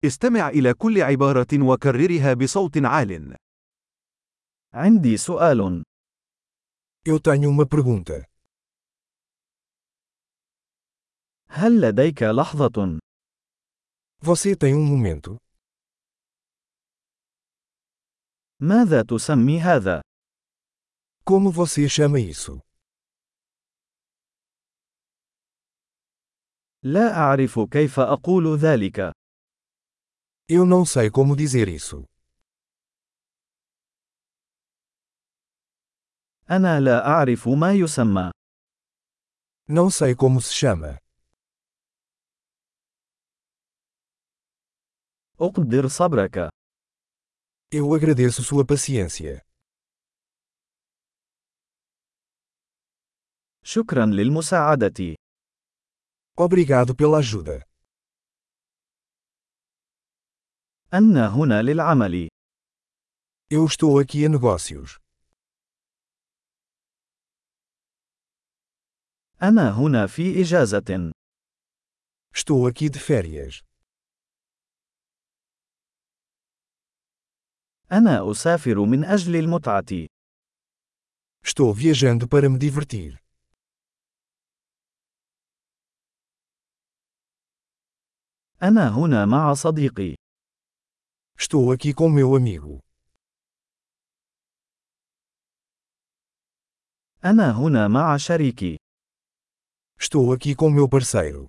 استمع إلى كل عبارة وكررها بصوت عال. عندي سؤال. Eu tenho uma pergunta. هل لديك لحظة؟ Você tem momento? ماذا تسمي هذا؟ Como você chama isso? لا أعرف كيف أقول ذلك. Eu não sei como dizer isso. أنا لا أعرف ما يسمى. Não sei como se chama. أقدر صبرك. Eu agradeço sua paciência. شكرا للمساعدة. Obrigado pela ajuda. أنا هنا للعمل. Eu estou aqui a negócios. أنا هنا في إجازة. Estou aqui de férias. أنا أسافر من أجل المتعة. Estou viajando para me divertir. أنا هنا مع صديقي. Estou aqui com meu amigo. أنا هنا مع شريكي. Estou aqui com meu parceiro.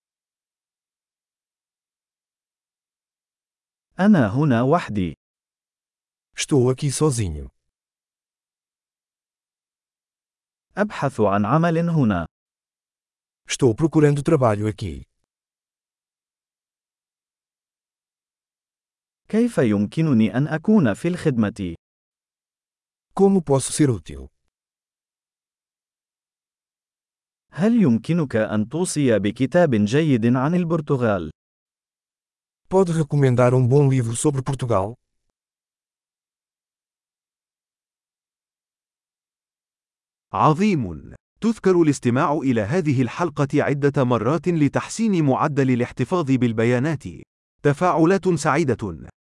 أنا هنا وحدي. Estou aqui sozinho. أبحث عن عمل هنا. Estou procurando trabalho aqui. كيف يمكنني أن أكون في الخدمة؟ Como posso ser útil? هل يمكنك أن توصي بكتاب جيد عن البرتغال؟ Pode recomendar bom livro sobre Portugal? عظيم! تذكر الاستماع إلى هذه الحلقة عدة مرات لتحسين معدل الاحتفاظ بالبيانات. تفاعلات سعيدة.